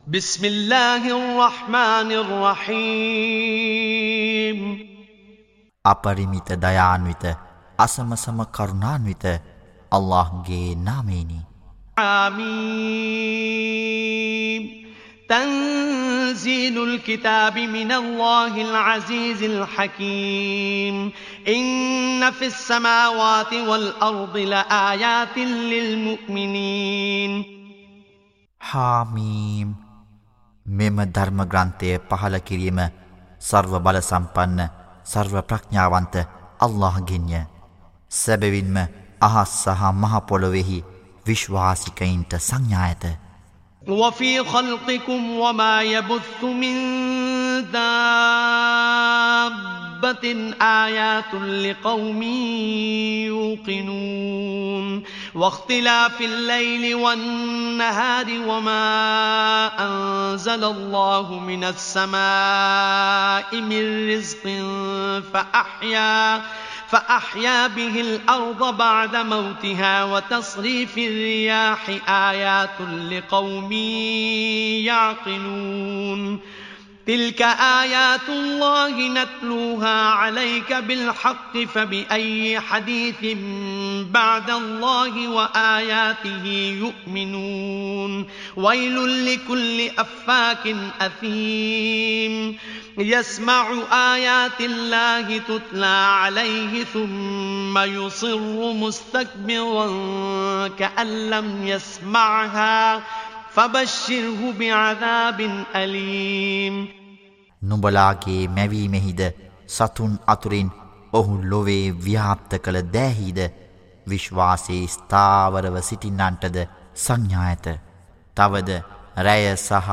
بسم الله الرحمن الرحيم අපරිමිත දයාන්විත අසමසම කරුණාන්විත අල්ලාහ්ගේ නාමයෙනි. آمين تنزيل الكتاب من الله العزيز الحكيم إن في السماوات والأرض لآيات للمؤمنين හාමීම් මෙම ධර්ම ග්‍රන්ථය පහළ කිරීම සර්ව බල සම්පන්න සර්ව ප්‍රඥාවන්ත අල්ලාහ්ගෙන්ය. සැබවින්ම අහස් සහ මහ පොළොවේහි විශ්වාසිකයින්ට සංඥා ඇත. وفي خلقكم وما يبث من دابة آيات لقوم يوقنون واختلاف الليل والنهار وما أنزل الله من السماء من رزق فأحيا به الأرض بعد موتها وتصريف الرياح آيات لقوم يعقلون تلك آيات الله نتلوها عليك بالحق فبأي حديث بعد الله وآياته يؤمنون ويل لكل أفاك أثيم يسمع آيات الله تتلى عليه ثم يصر مستكبرا كأن لم يسمعها فبشره بعذاب أليم නුඹලාගේ මැවීමෙහිද සතුන් අතුරින් ඔහු ලොවේ ව්‍යාප්ත කළ දෑහිද විශ්වාසයේ ස්ථාවරව සිටින්නන්ටද සංඥා ඇත. තවද රැය සහ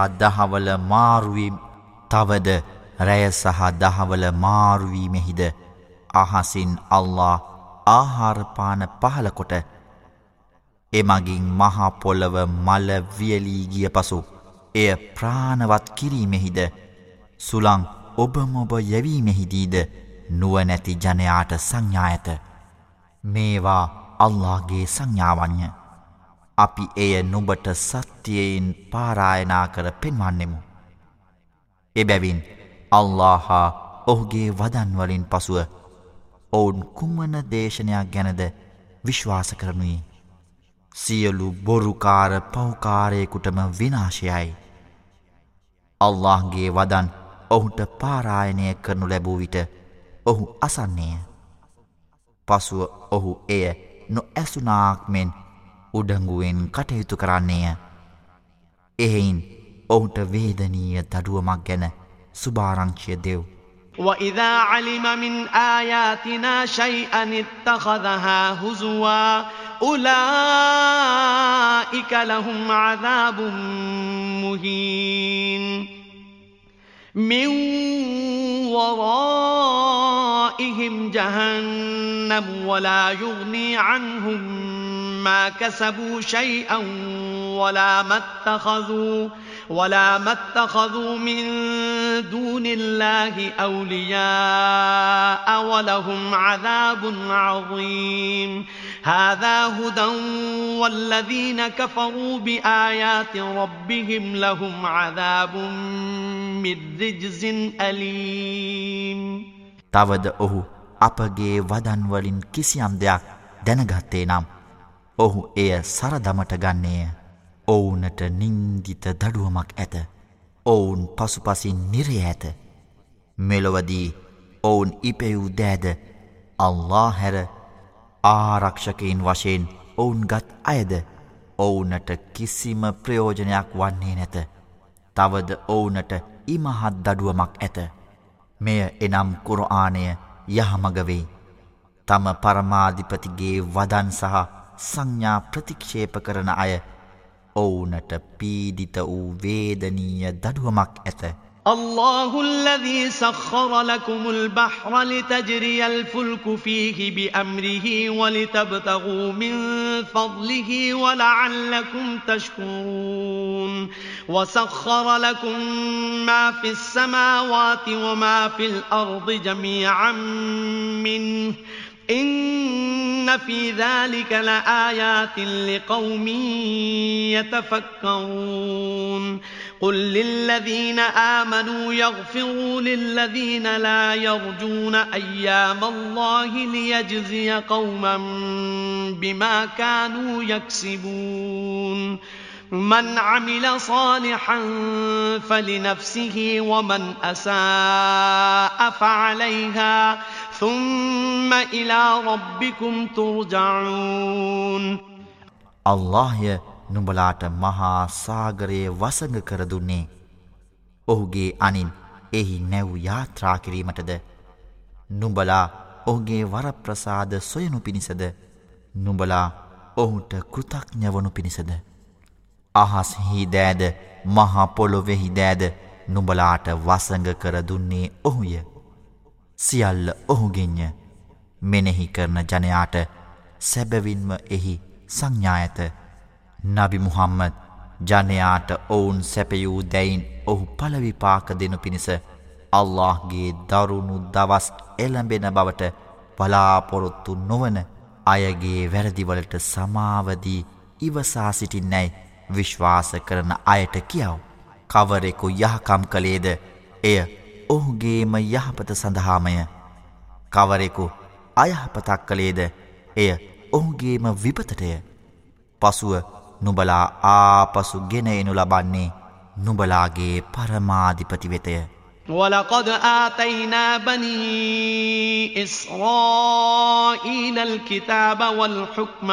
දහවල මාරුවීමෙහිද අහසින් අල්ලාහ් ආහාරපාන පහල කොට එමගින් මහා පොළව මල වියලී ගිය පසු එය ප්‍රාණවත් කිරීමෙහිද සුළං ඔබමොබ යැවීමෙහිදීද නුවණැති ජනයාට සංඥා ඇත. මේවා අල්ලාහ්ගේ සංඥාවන්ය. අපි එය නුඹට සත්‍යයෙන් පාරායනා කර පෙන්වන්නෙමු. එබැවින් අල්ලාහ් හා ඔහුගේ වදන් වලින් පසුව ඔවුන් කුමන දේශනයක් ගැනද විශ්වාස කරනුයේ? සියලු බොරුකාර පෞකාරයෙකුටම විනාශයයි. අල්ලාහ්ගේ වදන් ඔහුට පාරායනය කරනු ලැබූ විට ඔහු අසන්නේය. පසුව ඔහු එය නොඇසුනාක් මෙන් උඩඟුවෙන් කටයුතු කරන්නේය. එහෙයින් ඔහුට වේදනීය දඩුවමක් ගැන සුභාරංචිය දෙව්. وإذا علم من آياتنا شيئا اتخذها هزوا أولئك لهم عذاب مهين من ورائهم جهنم ولا يغني عنهم ما كسبوا شيئا ولا ما اتخذوا من دون الله أولياء ولهم عذاب عظيم هذا هدى والذين كفروا بآيات ربهم لهم عذاب من رجز أليم තවද ඔහු අපගේ වදන් වලින් කිසියම් දෙයක් දැනගත්තේ නම් ඔහු එය සරදමට ගන්නේය. ඔවුනට නින්දිත දඩුවමක් ඇත. ඔවුන් පසුපසින් නිරය ඇත. මෙලොවදී ඔවුන් ඉපෙවූ දෑද අල්ලාහ් හැර ආරක්ෂකයින් වශයෙන් ඔවුන් ගත් අයද ඔවුනට කිසිම ප්‍රයෝජනයක් වන්නේ නැත. තවද ඔවුනට ඉමහත් දඩුවමක් ඇත. මෙය එනම් කුර්ආනය යහමග වෙයි. තම පරමාධිපතිගේ වදන් සහ සංඥා ප්‍රතික්ෂේප කරන අය ඔවුනට පීඩිත වූ වේදනීය දඩුවමක් ඇත. الله الذي سخر لكم البحر لتجري الفلك فيه بأمره ولتبتغوا من فضله ولعلكم تشكرون وسخر لكم ما في السماوات وما في الأرض جميعا منه إن في ذلك لآيات لقوم يتفكرون قل للذين آمنوا يغفروا للذين لا يرجون أيام الله ليجزي قوما بما كانوا يكسبون من عمل صالحا فلنفسه ومن أساء فعليها ثم إلى ربكم ترجعون අල්ලාහ්ය නුඹලාට මහා සාගරයේ වසඟ කර දුන්නේ ඔහුගේ අනින් එහි නැව් යාත්‍රා කිරීමටද නුඹලා ඔහුගේ වරප්‍රසාද සොයනු පිණිසද නුඹලා ඔහුට කෘතඥ වනු පිණිසද අහස්හි දෑද මහා පොළොවෙහි දෑද නුඹලාට වසඟ කර දුන්නේ ඔහුය සියල්ල ඔහුගෙන්ය මෙනෙහි කරන ජනයාට සැබවින්ම එහි සංඥා ඇත නබි මුහම්මද් ජනයාට ඔවුන් සැපයූ දැයින් ඔහු පළවිපාක දෙනු පිණිස අල්ලාහ්ගේ දරුණු දවස් එළඹෙන බවට බලාපොරොත්තු නොවන අයගේ වැරදිවලට සමාවදී ඉවසා සිටින්නැයි විශ්වාස කරන අයට කියව. කවරෙකු යහකම් කළේද එය ඔහුගේම යහපත සඳහාමය. කවරෙකු අයහපතක් කළේද එය ඔහුගේම විපතටය. පසුව නුඹලා ආපසු ගෙන එනු ලබන්නේ නුඹලාගේ පරමාධිපති වෙතය. ولقد آتينا بني إسرائيل الكتاب والحكم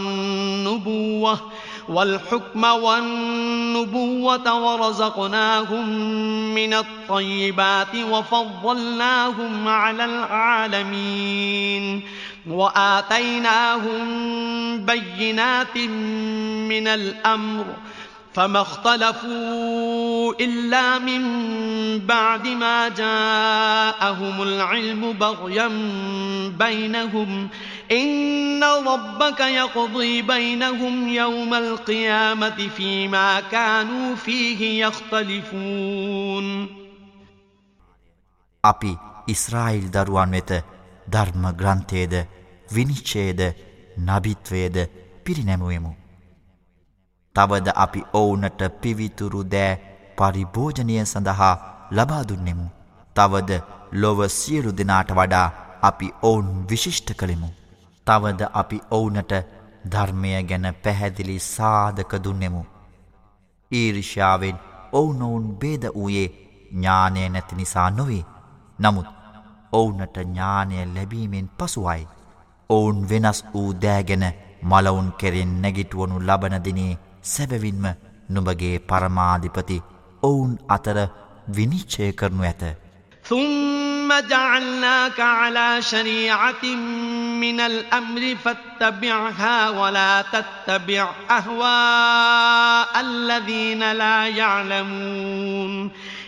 والنبوة ورزقناهم من الطيبات وفضلناهم على العالمين وآتيناهم بينات من الأمر فما اختلفوا إلا من بعد ما جاءهم العلم بغيا بينهم إن ربك يقضي بينهم يوم القيامة فيما كانوا فيه يختلفون අපි ඉස්රායිල් දරුවන් වෙත ධර්ම ග්‍රන්ථයේද විනිශ්චයේද නබිත්වයේද පිරිනැමුවෙමු. තවද අපි ඔවුනට පිවිතුරු දෑ පරිභෝජනය සඳහා ලබා දුන්නෙමු. තවද ලොව සියලු දෙනාට වඩා අපි ඔවුන් විශිෂ්ට කළෙමු. තවද අපි ඔවුනට ධර්මය ගැන පැහැදිලි සාධක දුන්නෙමු. ඊර්ෂ්‍යාවෙන් ඔවුනොවුන් බේද වූයේ ඥානය නැති නිසා නොවේ. නමුත් ඔවුනට ඥානය ලැබීමෙන් පසුවයි. ඔවුන් වෙනස් වූ දෑගෙන මලවුන් කෙරෙන් නැගිටුවනු ලබන දිනේ සැබවින්ම නුඹගේ පරමාධිපති ඔවුන් අතර විනිශ්චය කරනු ඇත. ثم جعلناك على شريعة من الأمر فاتبعها ولا تتبع أهواء الذين لا يعلمون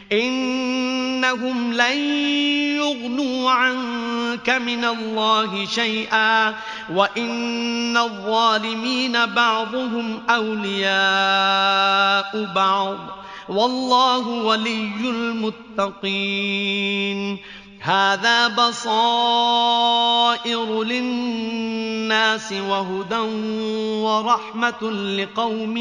إنهم لن يغنوا عنك من الله شيئا وإن الظالمين بعضهم أولياء بعض والله ولي المتقين هذا بصائر للناس وهدى ورحمة لقوم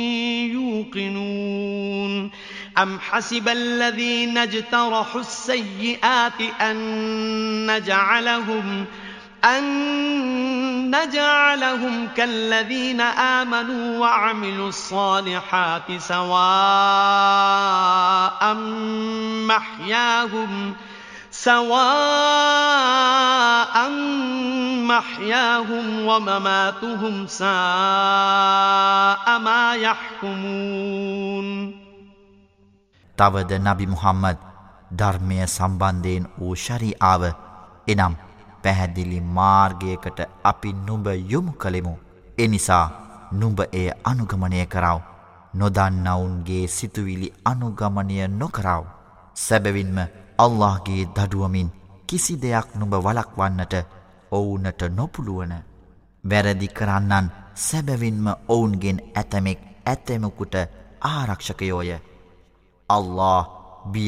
يوقنون أم حسب الذين اجترحوا السيئات أن نجعلهم كالذين آمنوا وعملوا الصالحات سواء محياهم ومماتهم ساء ما يحكمون තවද නබි මුහම්මද් ධර්මය සම්බන්ධයෙන් වූ ශරීආව එනම් පැහැදිලි මාර්ගයකට අපි නුඹ යොමු කළෙමු. එනිසා නුඹ එය අනුගමනය කරව. නොදන්නවුන්ගේ සිතුවිලි අනුගමනය නොකරව. සැබවින්ම අල්ලාහ්ගේ දඩුවමින් කිසි දෙයක් නුඹ වළක්වන්නට ඔවුනට නොපුළුවන. වැරදි කරන්නන් සැබවින්ම ඔවුන්ගෙන් ඇතමෙක් ඇතෙමකුට ආරක්ෂකයෝය. අල්ලාහ් බිය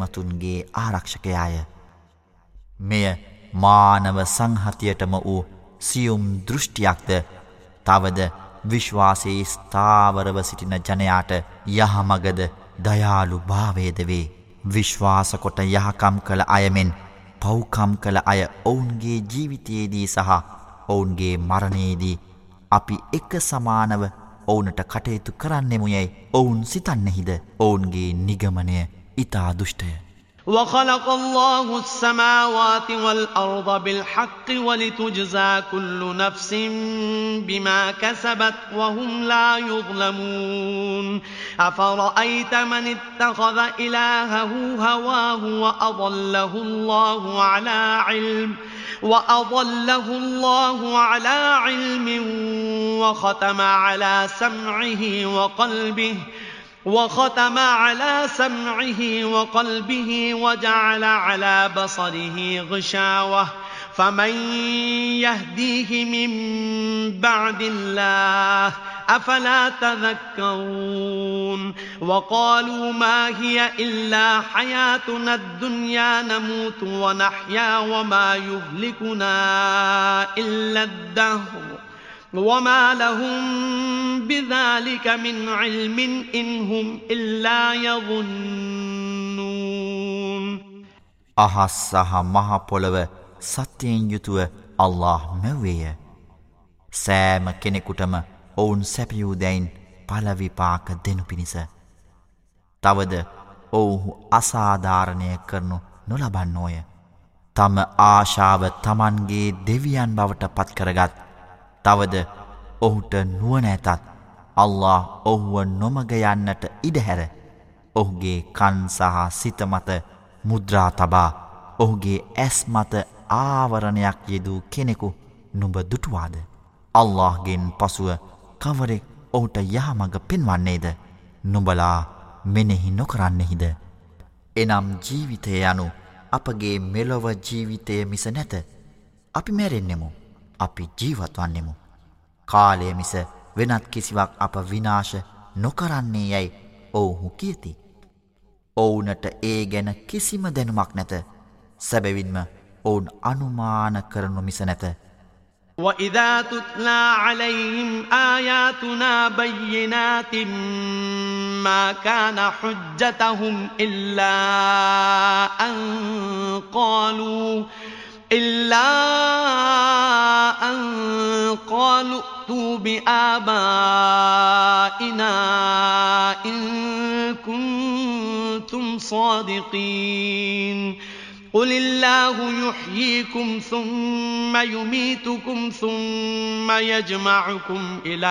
බැතිමතුන්ගේ ආරක්ෂකයාය. මෙය මානව සංහතියටම වූ සියුම් දෘෂ්ටියක්ද තවද විශ්වාසයේ ස්ථාවරව සිටින ජනයාට යහමගද දයාලු භාවයද වේ. විශ්වාස කොට යහකම් කළ අයමෙන් පව්කම් කළ අය ඔවුන්ගේ ජීවිතයේදී සහ ඔවුන්ගේ මරණයේදී අපි එක සමානව ඔවුනට කටයුතු කරන්නෙමු යැයි ඔවුන් සිතන්නෙහිද. ඔවුන්ගේ නිගමනය ඉතා දුෂ්ටය. وخلق الله السماوات والأرض بالحق ولتجزى كل نفس بما كسبت وهم لا يظلمون أفرأيت من اتخذ إلهه هواه وأضله الله على علم وختم على سمعه وقلبه وجعل على بصره غشاوة فمن يهديه من بعد الله أفلا تذكرون وقالوا ما هي إلا حياتنا الدنيا نموت ونحيا وما يهلكنا إلا الدهر وما لهم بذلك من علم إن هم إلا يظنون. අහස් සහ මහ පොළව සත්‍යයෙන් යුතුව අල්ලාහ් මැව්වේය. සෑම කෙනෙකුටම ඔවුන් සැපයූ දැයින් පළ විපාක දෙනු පිණිස. තවද ඔවුහු අසාධාරණය කරනු නොලබන්නෝය. තම ආශාව තමන්ගේ දෙවියන් බවට පත් කරගත් තවද ඔහුට නුවණ ඇතත් අල්ලාහ් ඔහුව නොමග යන්නට ඉඩහැර ඔහුගේ කන් සහ සිත මත මුද්‍රා තබා ඔහුගේ ඇස් මත ආවරණයක් යෙදූ කෙනෙකු නුඹ දුටුවාද. අල්ලාහ්ගෙන් පසුව කවරෙක් ඔහුට යහමඟ පෙන්වන්නේද. නුඹලා මෙනෙහි නොකරන්නෙහිද. එනම් ජීවිතය යනු අපගේ මෙලොව ජීවිතය මිස නැත. අපි මැරෙන්නෙමු. අපි ජීවත් වන්නෙමු. කාලය මිස වෙනත් කිසිවක් අප විනාශ නොකරන්නේ යැයි ඔවුහු කියති. ඔවුනට ඒ ගැන කිසිම දැනුමක් නැත. සැබවින්ම ඔවුන් අනුමාන කරනු මිස නැත. وَإِذَا تُتْلَى عَلَيْهِمْ آيَاتُنَا بَيِّنَاتٍ مَا كَانَ حُجَّتَهُمْ إِلَّا أَن قَالُوا ائْتُوا بِآبَائِنَا إِن كُنتُمْ صَادِقِينَ قُلِ اللَّهُ يُحْيِيكُمْ ثُمَّ يُمِيتُكُمْ ثُمَّ يَجْمَعُكُمْ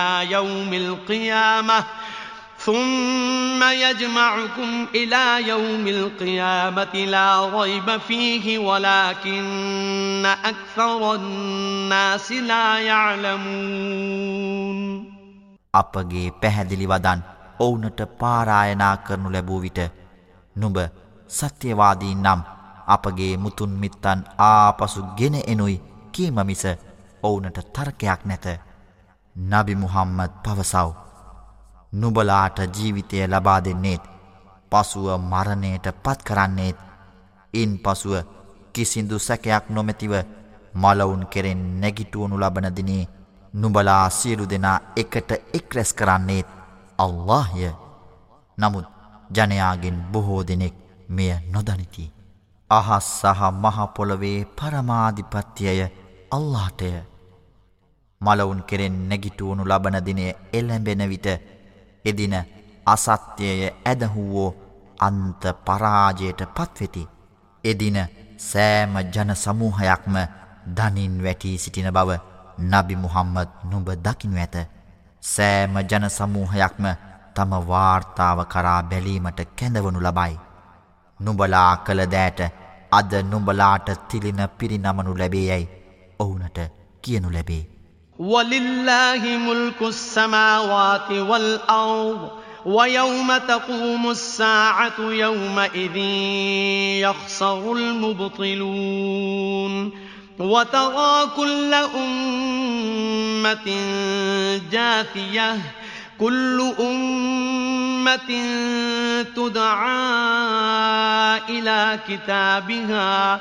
إِلَى يَوْمِ الْقِيَامَةِ لَا رَيْبَ فِيهِ وَلَكِنَّ أَكْثَرَ النَّاسِ لَا يَعْلَمُونَ. අපගේ පැහැදිලි වදන් ඔවුනට පාරායනා කරනු ලැබූ විට නුඹ සත්‍යවාදී නම් අපගේ මුතුන් මිත්තන් ආපසු ගෙන එනුයි කීම මිස ඔවුනට තර්කයක් නැත. නබි මුහම්මද් පවසව. නුඹලාට ජීවිතය ලබා දෙන්නේත් පසුව මරණයට පත් කරන්නේත් ඉන් පසුව කිසිදු සැකයක් නොමැතිව මලවුන් කෙරෙන් නැගිටුවනු ලබන දිනේ නුඹලා සියලු දෙනා එකට එක් රැස් කරන්නේත් අල්ලාහ්ය. නමුත් ජනයාගෙන් බොහෝ දෙනෙක් මෙය නොදනිති. අහස් සහ මහ පොළවේ පරමාධිපත්‍යය අල්ලාහ්ටය. මලවුන් කෙරෙන් නැගිටුවනු ලබන දිනය එළඹෙන විට එදින අසත්‍යය ඇදහුවෝ අන්ත පරාජයට පත්වෙති. එදින සෑම ජන සමූහයක්ම දනින් වැටී සිටින බව නබි මුහම්මද් නුඹ දකිනු ඇත. සෑම ජන සමූහයක්ම තම වාර්තාව කරා බැලීමට කැඳවනු ලබයි. නුඹලා කළ දෑට අද නුඹලාට තිලින පිරිනමනු ලැබේ යැයි ඔවුනට කියනු ලැබේ. وَلِلَّهِ مُلْكُ السَّمَاوَاتِ وَالْأَرْضِ وَيَوْمَ تَقُومُ السَّاعَةُ يَوْمَئِذٍ يَخْسَرُ الْمُبْطِلُونَ وَتَرَى كُلَّ أُمَّةٍ جَاثِيَةً كُلُّ أُمَّةٍ تُدْعَى إِلَى كِتَابِهَا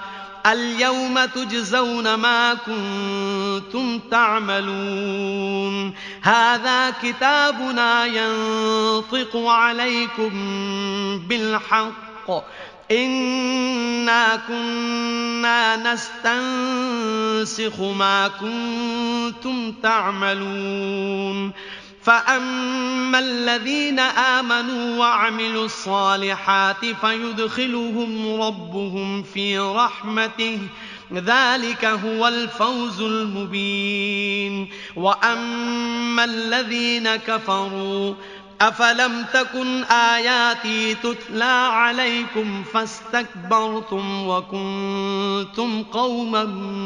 اليوم تجزون ما كنتم تعملون هذا كتابنا ينطق عليكم بالحق إنا كنا نستنسخ ما كنتم تعملون فأما الذين آمنوا وعملوا الصالحات فيدخلهم ربهم في رحمته ذلك هو الفوز المبين وأما الذين كفروا أفلم تكن آياتي تتلى عليكم فاستكبرتم وكنتم قوما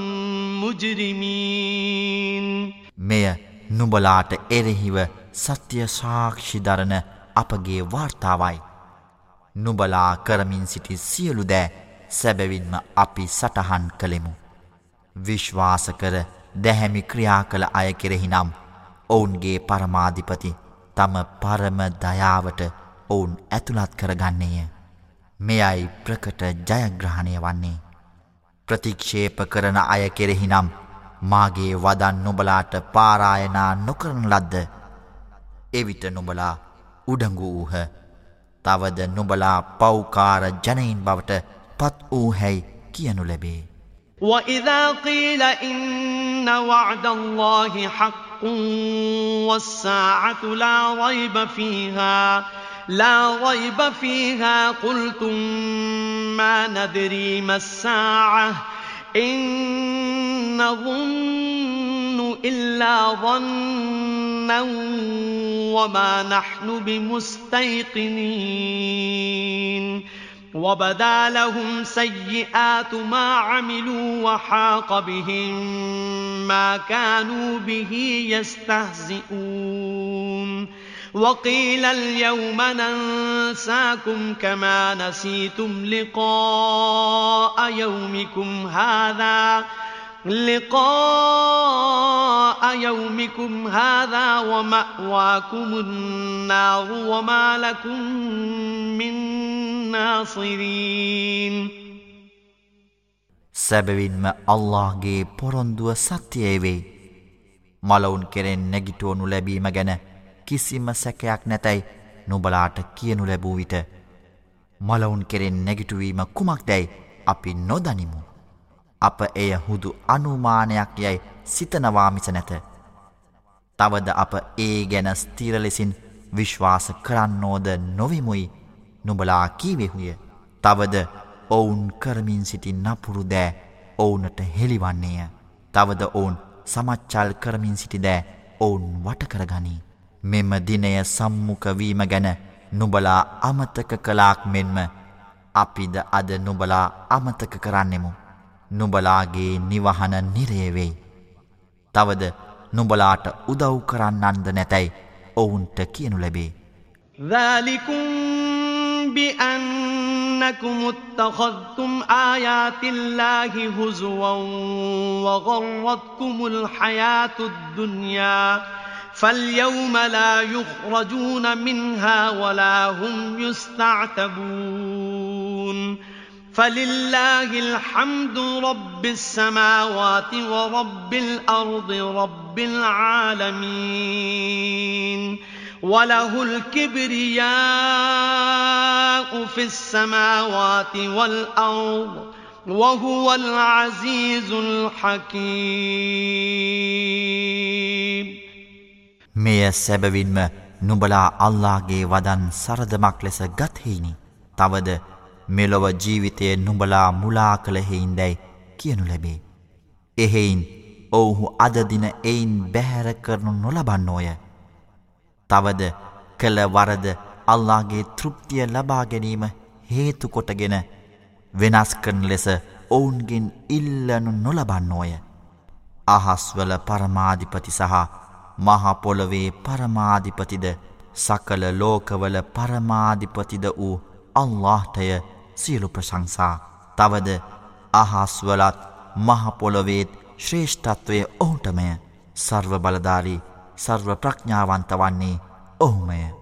مجرمين නුඹලාට එරෙහිව සත්‍ය සාක්ෂි දරන අපගේ වාර්තාවයි. නුඹලා කරමින් සිටි සියලු දෑ සැබවින්ම අපි සටහන් කළෙමු. විශ්වාස කර දැහැමි ක්‍රියා කළ අය කෙරෙහි නම් ඔවුන්ගේ පරමාධිපති තම පරම දයාවට ඔවුන් ඇතුළත් කරගන්නේය. මෙයයි ප්‍රකට ජයග්‍රහණය වන්නේ. ප්‍රතික්ෂේප කරන අය කෙරෙහි නම් මාගේ වදන් නුඹලාට පාරායනා නොකරන ලද්ද. එවිට නුඹලා උඩඟු වූහ. තවද නුඹලා පෞකාර ජනයින් බවට පත් වූහැයි කියනු ලැබේ. وَإِذَا قِيلَ إِنَّ وَعْدَ اللَّهِ حَقٌّ وَالسَّاعَةُ لَا رَيْبَ فِيهَا قُلْتُمْ مَا نَدْرِي مَا السَّاعَةُ إِن نَّظُنُّ إِلَّا ظَنًّا وَمَا نَحْنُ بِمُسْتَيْقِنِينَ وَبَدَا لَهُمْ سَيِّئَاتُ مَا عَمِلُوا وَحَاقَ بِهِم مَّا كَانُوا بِهِ يَسْتَهْزِئُونَ وَقِيلَ الْيَوْمَ نَنسَاكُمْ كَمَا نَسِيتُمْ لِقَاءَ يَوْمِكُمْ هَٰذَا وَمَأْوَاكُمُ النَّارُ وَمَا لَكُم مِّن نَّاصِرِينَ සැබවින්ම අල්ලාහ්ගේ පොරොන්දුව සත්‍යය වේ. මලවුන් කෙරෙන් නැගිටවනු ලැබීම ගැන කිසිම සැකයක් නැතයි නුඹලාට කියනු ලැබූ විට මලවුන් කෙරෙන් නැගිටුවීම කුමක්දැයි අපි නොදනිමු. අප එය හුදු අනුමානයක් යැයි සිතනවා මිස නැත. තවද අප ඒ ගැන ස්ථිර ලෙසින් විශ්වාස කරන්නෝද නොවෙමුයි නුඹලා කීවෙහුය. තවද ඔවුන් කරමින් සිටි නපුරු දෑ ඔවුනට හෙළිවන්නේය. තවද ඔවුන් සමච්චල් කරමින් සිටි දෑ ඔවුන් වටකරගනී. මෙම දිනය සම්මුඛවීම ගැන නුඹලා අමතක කළාක් මෙන්ම අපිද අද නුඹලා අමතක කරන්නෙමු. නුඹලාගේ නිවහන නිරය වෙයි. තවද නුඹලාට උදව් කරන්නන්ද නැතැයි ඔවුන්ට කියනු ලැබේ. ذَلِكُمْ بِأَنَّكُمُ اتَّخَذْتُمْ آيَاتِ اللَّهِ هُزُوًا وَغَرَّتْكُمُ الْحَيَاةُ الدُّنْيَا فَالْيَوْمَ لَا يُخْرَجُونَ مِنْهَا وَلَا هُمْ يُسْتَعْتَبُونَ فَلِلَّهِ الْحَمْدُ رَبِّ السَّمَاوَاتِ وَرَبِّ الْأَرْضِ رَبِّ الْعَالَمِينَ وَلَهُ الْكِبْرِيَاءُ فِي السَّمَاوَاتِ وَالْأَرْضِ وَهُوَ الْعَزِيزُ الْحَكِيمُ මෙය සැබවින්ම නුඹලා අල්ලාහ්ගේ වදන් සරදමක් ලෙස ගත් හේිනි. තවද මෙලොව ජීවිතය නුඹලා මුලා කළ හේින්දැයි කියනු ලැබේ. එහෙයින් ඔවුහු අද දින එයින් බැහැර කරනු නොලබන්නෝය. තවද කළ වරද අල්ලාහ්ගේ තෘප්තිය ලබා ගැනීම හේතු කොටගෙන වෙනස් කරන ලෙස ඔවුන්ගෙන් ඉල්ලනු නොලබන්නෝය. අහස්වල පරමාධිපති සහ මහ පොළොවේ පරමාධිපතිද සකල ලෝකවල පරමාධිපතිද වූ අල්ලාහ්ටය සියලු ප්‍රශංසා. තවද අහස්වලත් මහ පොළොවේත් ශ්‍රේෂ්ඨත්වය ඔහුටමය. සර්ව බලධාරී සර්ව ප්‍රඥාවන්ත වන්නේ ඔහුමය.